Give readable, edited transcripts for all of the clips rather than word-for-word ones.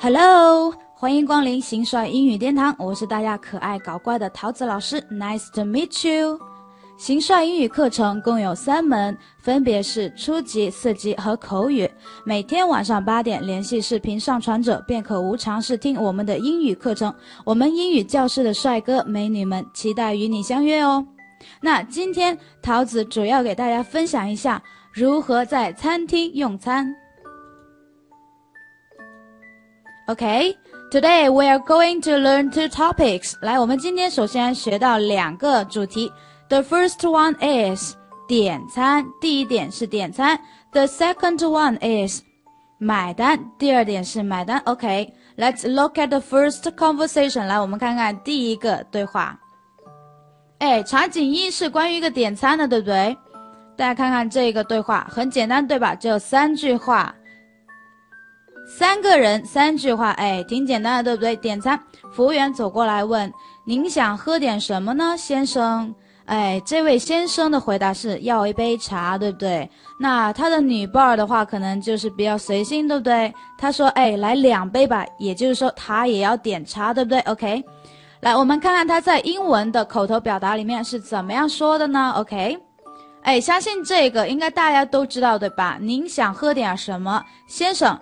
Hello， 欢迎光临新帅英语殿堂，我是大家可爱搞怪的桃子老师 ，Nice to meet you。新帅英语课程共有3门，分别是初级、4级和口语。每天晚上8点联系视频上传者，便可无偿试听我们的英语课程。我们英语教室的帅哥美女们期待与你相约哦。那今天桃子主要给大家分享一下如何在餐厅用餐。Okay, today we are going to learn 2 topics. 来，我们今天首先学到2个主题。The first one is 点餐，第一点是点餐。The second one is 买单，第二点是买单。Okay, let's look at the first conversation. 来，我们看看第一个对话。场景1是关于一个点餐的，对不对？大家看看这个对话，很简单，对吧？只有3句话。3个人3句话，挺简单的，对不对？点餐，服务员走过来问：“您想喝点什么呢，先生？”这位先生的回答是要一杯茶，对不对？那他的女伴的话，可能就是比较随性，对不对？他说：“来2杯吧。”也就是说，他也要点茶，对不对 ？OK， 来，我们看看他在英文的口头表达里面是怎么样说的呢 ？OK， 相信这个应该大家都知道，对吧？您想喝点什么，先生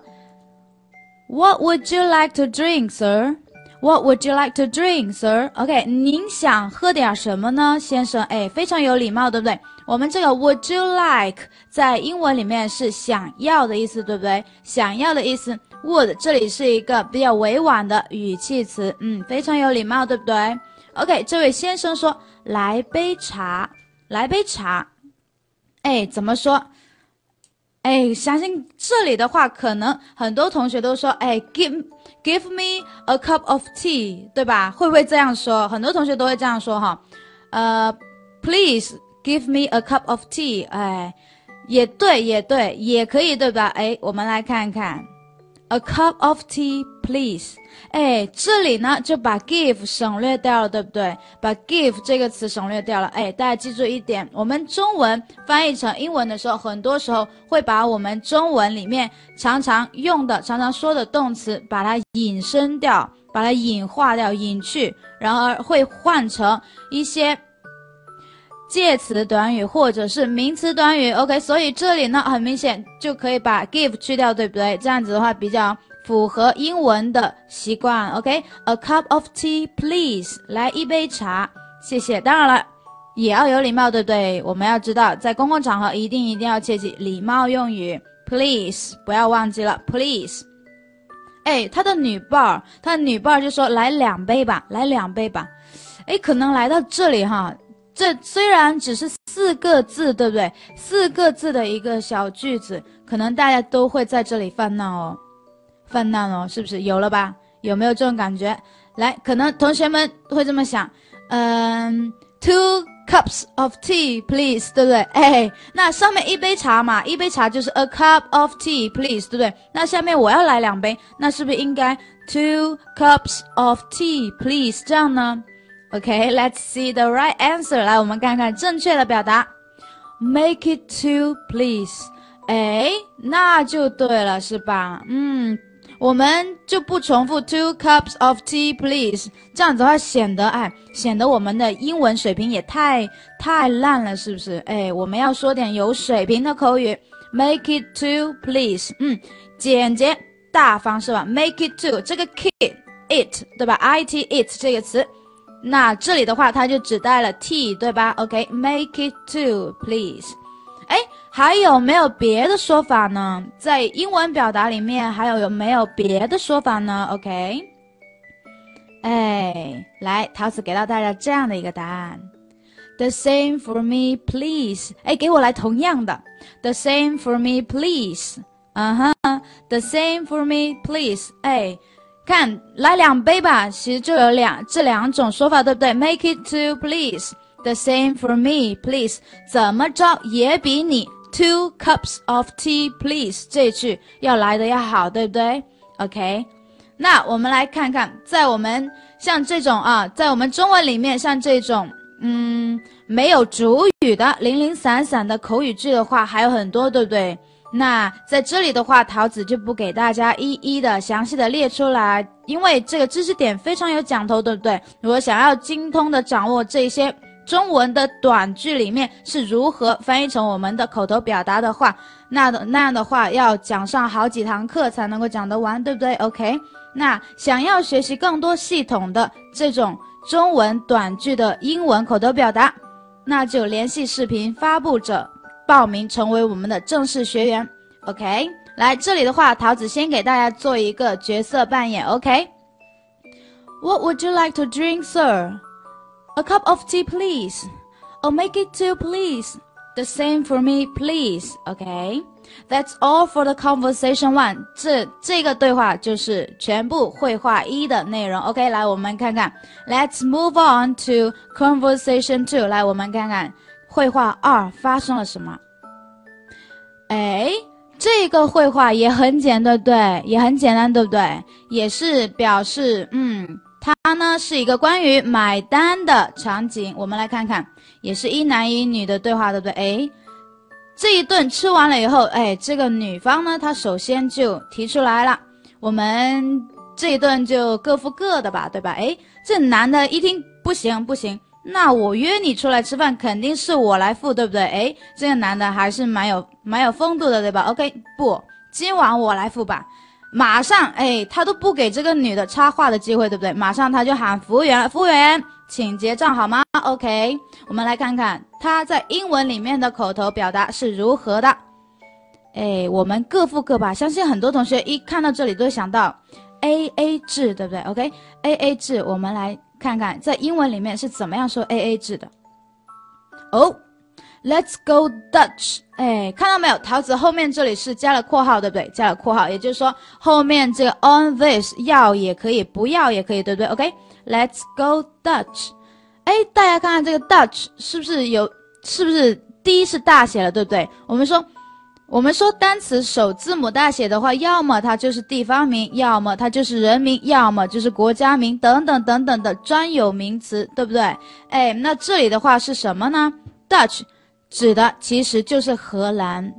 ？What would you like to drink, sir? What would you like to drink, sir? OK， 您想喝点什么呢，先生？非常有礼貌，对不对？我们这个 would you like 在英文里面是想要的意思，对不对？想要的意思 would 这里是一个比较委婉的语气词，非常有礼貌，对不对 ？OK， 这位先生说：“来杯茶，来杯茶。”怎么说？相信这里的话，可能很多同学都说，give me a cup of tea， 对吧？会不会这样说？很多同学都会这样说哈。Please give me a cup of tea。也对，也可以，对吧？我们来看看 ，a cup of tea please。这里呢就把 give 省略掉了，对不对？把 give 这个词省略掉了。大家记住一点，我们中文翻译成英文的时候，很多时候会把我们中文里面常常用的、常常说的动词，把它引申掉，把它引化掉、引去，然而会换成一些介词短语或者是名词短语。OK， 所以这里呢，很明显就可以把 give 去掉，对不对？这样子的话比较符合英文的习惯 ，OK？A cup of tea, please。来一杯茶，谢谢。当然了，也要有礼貌，对不对？我们要知道，在公共场合一定要切记礼貌用语 ，please， 不要忘记了 ，please。他的女伴就说：“来2杯吧，来2杯吧。”可能来到这里哈，这虽然只是4个字，对不对？4个字的一个小句子，可能大家都会在这里犯难哦，是不是？有了吧？有没有这种感觉？来，可能同学们会这么想，2 cups of tea please， 对不对？那上面一杯茶嘛，一杯茶就是 a cup of tea please， 对不对？那下面我要来2杯，那是不是应该 2 cups of tea please 这样呢？OK，let's see the right answer。来，我们看看正确的表达 ，make it 2 please。那就对了，是吧？我们就不重复 2 cups of tea please， 这样子的话显得我们的英文水平也太烂了，是不是？我们要说点有水平的口语 ，make it 2 please。简洁大方是吧 ？make it 2这个 it 对吧 ？it it 这个词。那这里的话，它就只带了 t， 对吧 ？OK，make it 2 please。还有没有别的说法呢？在英文表达里面，还有没有别的说法呢 ？OK， 来，桃子给到大家这样的一个答案 ：The same for me, please。给我来同样的 ，The same for me, please。The same for me, please。看来2杯吧，其实就有这2种说法，对不对 ？Make it 2 please。The same for me, please。怎么着也比你2 cups of tea, please 这句要来的要好，对不对 ？OK。那我们来看看，在我们像这种在我们中文里面，像这种没有主语的零零散散的口语句的话，还有很多，对不对？ 那在这里的话，桃子就不给大家一一的详细的列出来，因为这个知识点非常有讲头，对不对？如果想要精通的掌握这些中文的短句里面是如何翻译成我们的口头表达的话，那样的话要讲上好几堂课才能够讲得完，对不对 ？OK， 那想要学习更多系统的这种中文短句的英文口头表达，那就联系视频发布者报名成为我们的正式学员 ，OK？ 来这里的话，桃子先给大家做一个角色扮演 ，OK？What would you like to drink, sir? A cup of tea, please. I'll make it two, please. The same for me, please. Okay? That's all for the conversation one. 这个对话就是全部绘画一的内容。OK， 来我们看看。Let's move on to conversation two. 来我们看看绘画二发生了什么。哎，这个绘画也很简单，对，也很简单，对不对？也是表示，它呢是一个关于买单的场景。我们来看看，也是一男一女的对话，对不对？哎，这一顿吃完了以后，哎，这个女方呢，她首先就提出来了，我们这一顿就各付各的吧，对吧？哎，这男的一听不行不行，那我约你出来吃饭，肯定是我来付，对不对？哎，这个男的还是蛮有风度的，对吧 ？OK， 不，今晚我来付吧。马上，哎，他都不给这个女的插话的机会，对不对？马上他就喊服务员，服务员，请结账好吗 ？OK， 我们来看看他在英文里面的口头表达是如何的。哎，我们各付各吧。相信很多同学一看到这里都会想到 AA 制，对不对 ？OK，AA 制，我们来看看在英文里面是怎么样说 AA 制的。Let's go Dutch。哎，看到没有？桃子后面这里是加了括号，对不对？加了括号，也就是说后面这个 on this 要也可以，不要也可以，对不对 ？OK，Let's go Dutch。哎，大家看看这个 Dutch 是不是第一是大写了，对不对？我们说单词首字母大写的话，要么它就是地方名，要么它就是人名，要么就是国家名等等等等的专有名词，对不对？哎，那这里的话是什么呢？ Dutch 指的其实就是荷兰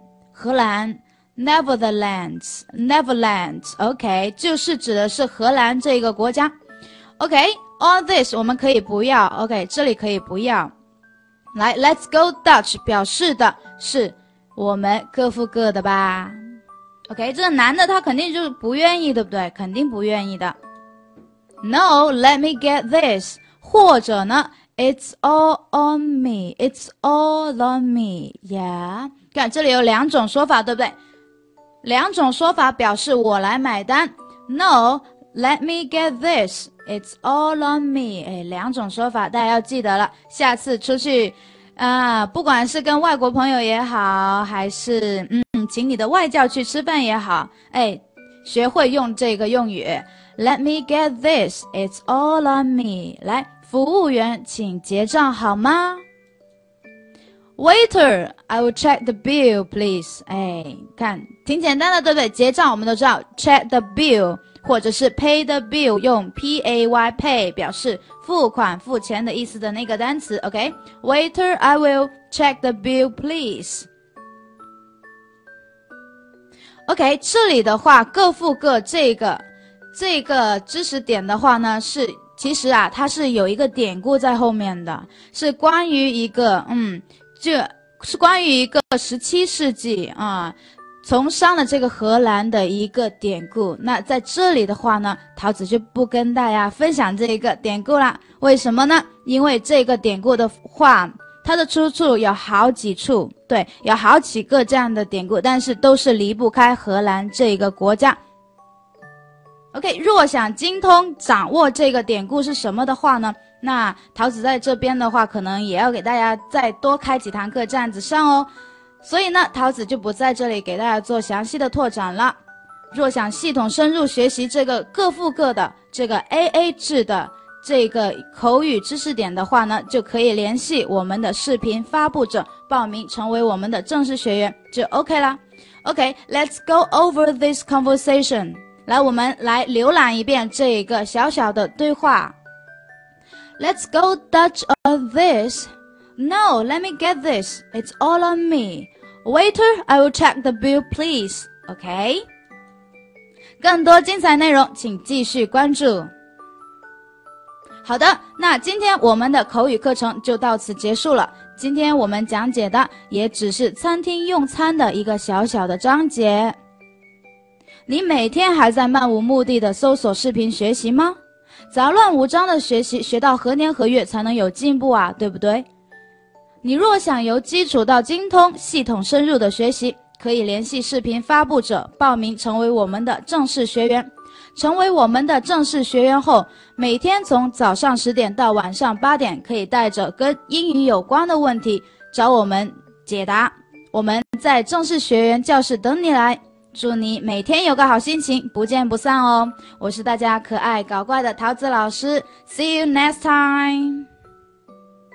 Netherlands OK 就是指的是荷兰这个国家 OK all this 我们可以不要 OK 这里可以不要来 Let's go Dutch 表示的是我们各付各的吧 OK 这个男的他肯定就是不愿意对不对肯定不愿意的 No let me get this 或者呢It's all on me. It's all on me. Yeah. 看这里有两种说法，对不对？两种说法表示我来买单。No, let me get this. It's all on me. 哎，两种说法大家要记得了。下次出去，不管是跟外国朋友也好，还是请你的外教去吃饭也好，哎，学会用这个用语。Let me get this. It's all on me. 来。服务员，请结账好吗 ？Waiter, I will check the bill, please. 哎，看，挺简单的，对不对？结账我们都知道 ，check the bill， 或者是 pay the bill， 用 pay pay 表示付款、付钱的意思的那个单词。OK，Waiter, I will check the bill, please. OK， 这里的话，各付各这个知识点的话呢是。其实它是有一个典故在后面的，是关于一个是关于一个17世纪从商的这个荷兰的一个典故。那在这里的话呢，桃子就不跟大家分享这个典故啦。为什么呢？因为这个典故的话，它的出处有好几处，对，有好几个这样的典故，但是都是离不开荷兰这个国家。OK， 若想精通掌握这个典故是什么的话呢，那桃子在这边的话，可能也要给大家再多开几堂课这样子上哦。所以呢，桃子就不在这里给大家做详细的拓展了。若想系统深入学习这个各付各的这个 AA 制的这个口语知识点的话呢，就可以联系我们的视频发布者报名成为我们的正式学员，就 OK 啦。OK，let's go over this conversation。来，我们来浏览一遍这个小小的对话。Let's go Dutch on this. No, let me get this. It's all on me. Waiter, I will check the bill, please. OK? 更多精彩内容，请继续关注。好的，那今天我们的口语课程就到此结束了。今天我们讲解的也只是餐厅用餐的一个小小的章节。你每天还在漫无目的的搜索视频学习吗？杂乱无章的学习，学到何年何月才能有进步啊，对不对？你若想由基础到精通，系统深入的学习，可以联系视频发布者报名成为我们的正式学员。成为我们的正式学员后，每天从早上10点到晚上8点，可以带着跟英语有关的问题找我们解答。我们在正式学员教室等你来。祝你每天有个好心情，不见不散哦！我是大家可爱搞怪的桃子老师 ，See you next time。